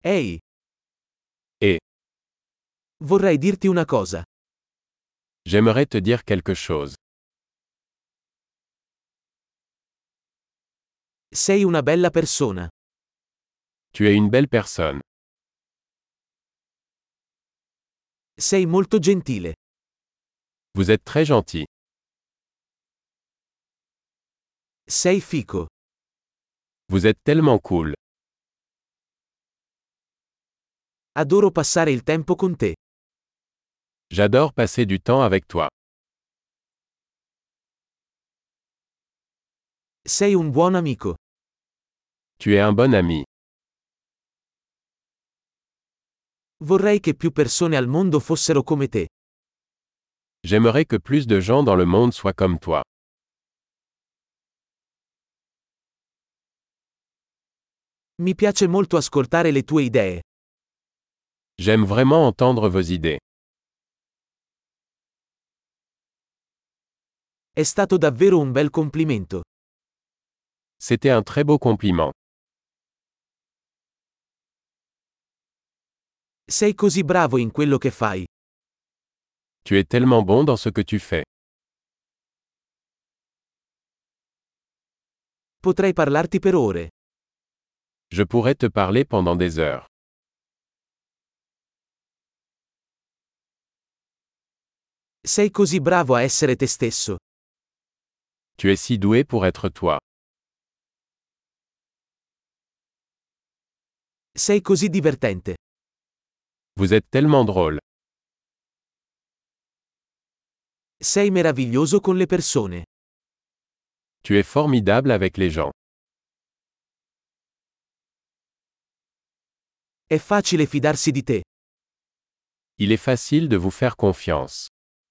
Ehi, Et vorrei dirti una cosa. j'aimerais te dire quelque chose. Sei una bella persona. Tu es une belle personne. Sei molto gentile. Vous êtes très gentil. Sei fico. Vous êtes tellement cool. Adoro passare il tempo con te. J'adore passer du temps avec toi. Sei un buon amico. Tu es un bon ami. Vorrei che più persone al mondo fossero come te. J'aimerais que plus de gens dans le monde soient comme toi. Mi piace molto ascoltare le tue idee. J'aime vraiment entendre vos idées. È stato davvero un bel complimento. C'était un très beau compliment. Sei così bravo in quello che fai. Tu es tellement bon dans ce que tu fais. Potrei parlarti per ore. Je pourrais te parler pendant des heures. Sei così bravo a essere te stesso. Tu es si doué pour être toi. Sei così divertente. Vous êtes tellement drôle. Sei meraviglioso con le persone. Tu es formidable avec les gens. È facile fidarsi di te. Il est facile de vous faire confiance.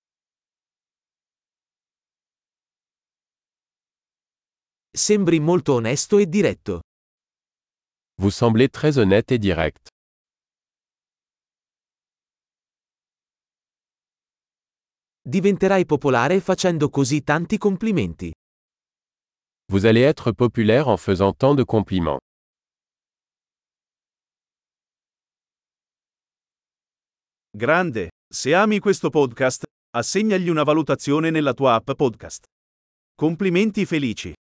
Sembri molto onesto e diretto. Vous semblez très honnête et direct. Diventerai popolare facendo così tanti complimenti. Vous allez être populaire en faisant tant de compliments. Grande, se ami questo podcast, assegnagli una valutazione nella tua app podcast. Complimenti felici.